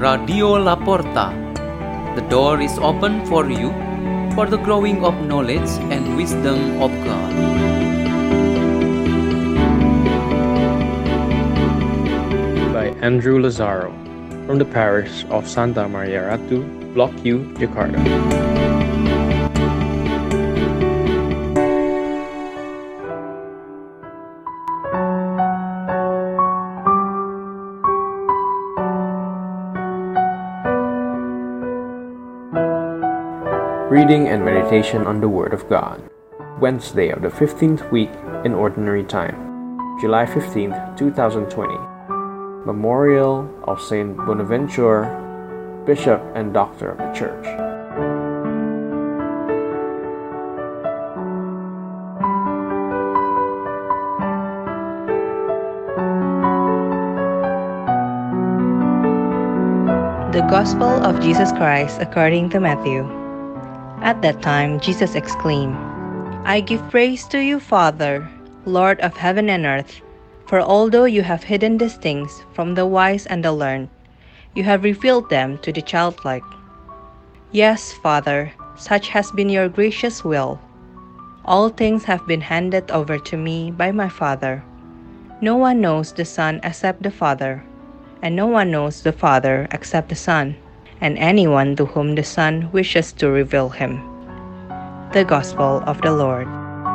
Radio La Porta. The door is open for you for the growing of knowledge and wisdom of God. By Andrew Lazaro, from the parish of Santa Maria Ratu, Block U, Jakarta. Reading and Meditation on the Word of God. Wednesday of the 15th week in Ordinary Time, July 15th, 2020. Memorial of Saint Bonaventure, Bishop and Doctor of the Church. The Gospel of Jesus Christ according to Matthew. At that time, Jesus exclaimed, "I give praise to you, Father, Lord of heaven and earth, for although you have hidden these things from the wise and the learned, you have revealed them to the childlike. Yes, Father, such has been your gracious will. All things have been handed over to me by my Father. No one knows the Son except the Father, and no one knows the Father except the Son, and anyone to whom the Son wishes to reveal him." The Gospel of the Lord.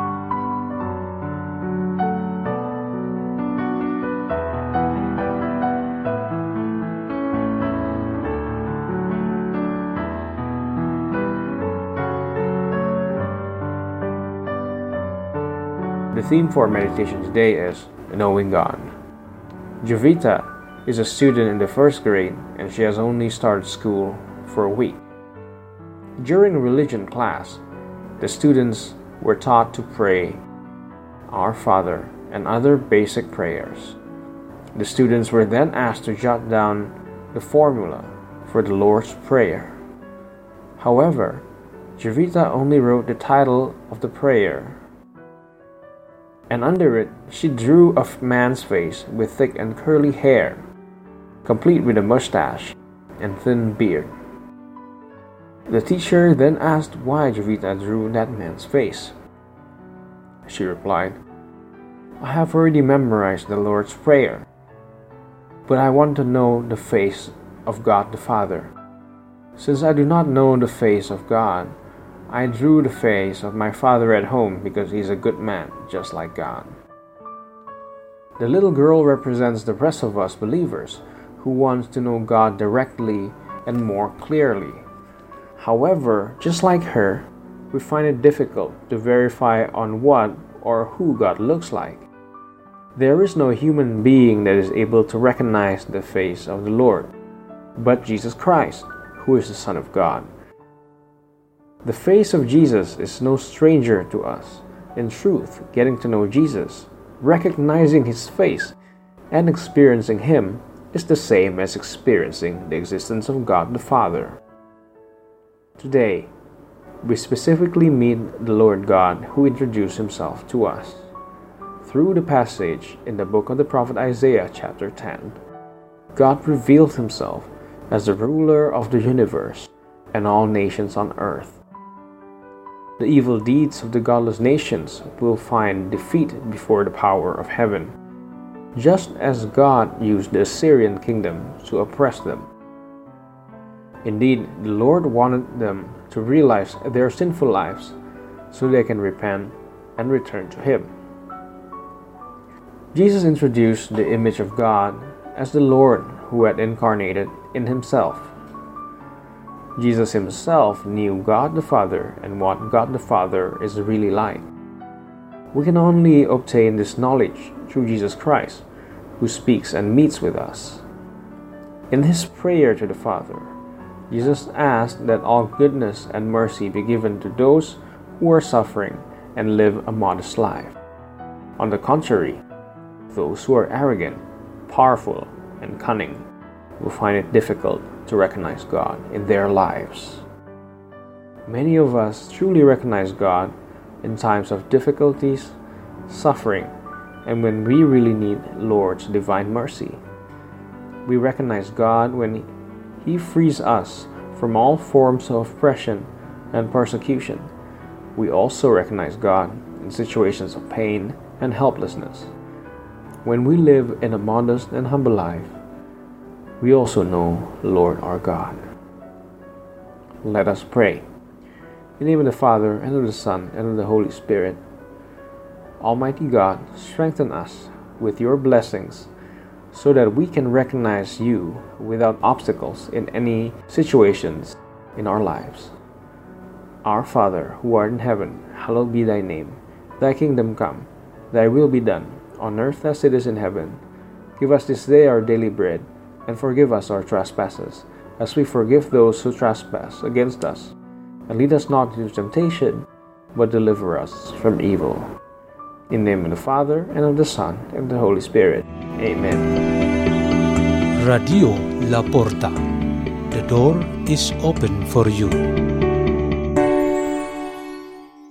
The theme for meditation today is Knowing God. Jovita is a student in the first grade and she has only started school for a week. During religion class, the students were taught to pray Our Father and other basic prayers. The students were then asked to jot down the formula for the Lord's Prayer. However, Jovita only wrote the title of the prayer, and under it she drew a man's face with thick and curly hair, complete with a mustache and thin beard. The teacher then asked why Jovita drew that man's face. She replied, "I have already memorized the Lord's Prayer, but I want to know the face of God the Father. Since I do not know the face of God, I drew the face of my father at home because he's a good man, just like God." The little girl represents the rest of us believers who wants to know God directly and more clearly. However, just like her, we find it difficult to verify on what or who God looks like. There is no human being that is able to recognize the face of the Lord, but Jesus Christ, who is the Son of God. The face of Jesus is no stranger to us. In truth, getting to know Jesus, recognizing His face, and experiencing Him is the same as experiencing the existence of God the Father. Today, we specifically meet the Lord God who introduced Himself to us. Through the passage in the book of the prophet Isaiah chapter 10, God revealed Himself as the ruler of the universe and all nations on earth. The evil deeds of the godless nations will find defeat before the power of heaven, just as God used the Assyrian kingdom to oppress them. Indeed, the Lord wanted them to realize their sinful lives so they can repent and return to Him. Jesus introduced the image of God as the Lord who had incarnated in Himself. Jesus Himself knew God the Father and what God the Father is really like. We can only obtain this knowledge through Jesus Christ, who speaks and meets with us. In His prayer to the Father, Jesus asked that all goodness and mercy be given to those who are suffering and live a modest life. On the contrary, those who are arrogant, powerful, and cunning will find it difficult to recognize God in their lives. Many of us truly recognize God in times of difficulties, suffering, and when we really need Lord's divine mercy. We recognize God when He frees us from all forms of oppression and persecution. We also recognize God in situations of pain and helplessness. When we live in a modest and humble life, we also know Lord our God. Let us pray. In the name of the Father, and of the Son, and of the Holy Spirit. Almighty God, strengthen us with your blessings so that we can recognize you without obstacles in any situations in our lives. Our Father, who art in heaven, hallowed be thy name. Thy kingdom come, thy will be done, on earth as it is in heaven. Give us this day our daily bread, and forgive us our trespasses, as we forgive those who trespass against us. And lead us not into temptation, but deliver us from evil. In the name of the Father, and of the Son, and of the Holy Spirit. Amen. Radio La Porta. The door is open for you.